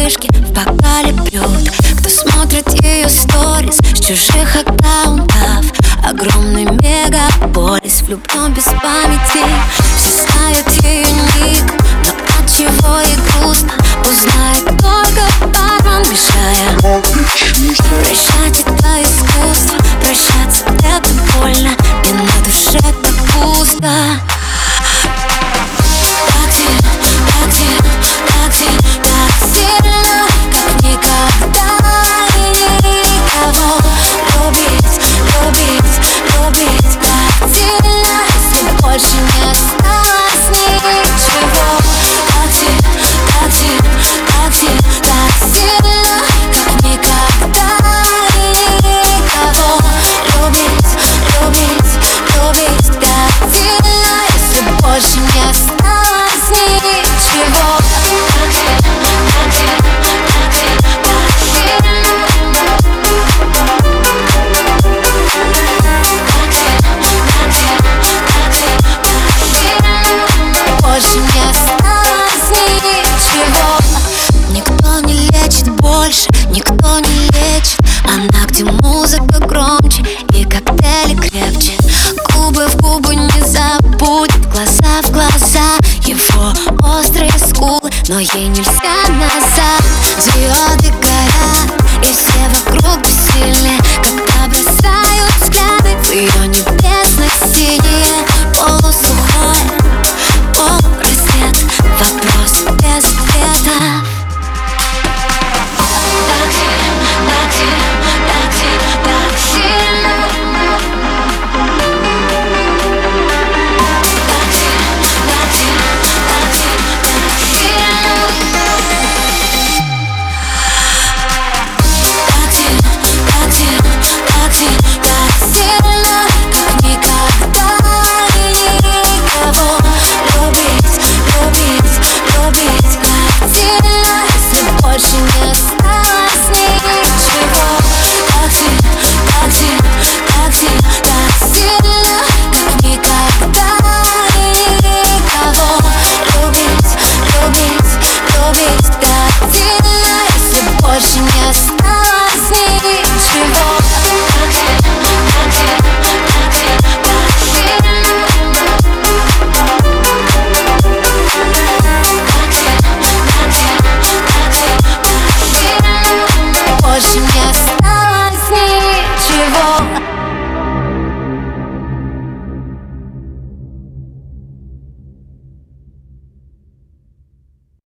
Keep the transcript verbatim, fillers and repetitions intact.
вспышки в бокале пьют. Кто смотрит ее сторис с чужих аккаунтов? Огромный мегаполис, влюблен без памяти. Все знают ее ник, но от чего ей грустно узнает только бармен, мешая. Прощать это искусство, прощаться это больно, и на душе так пусто. Так сильно, так сильно, так сильно, так сильно, как никогда и никого. Любить, любить, любить так сильно, если больше не осталось ничего. Так сильно, так сильно, так сильно, так сильно, как никогда и никого. Любить, любить, любить так сильно, если больше не осталось ничего. Так сильно, так сильно, так сильно, так сильно. Больше не осталось ничего. Никто не лечит больше, никто не лечит. Она, где музыка громче и коктейли крепче. Губы в губы не забудет, глаза в глаза его острые скулы, но ей нельзя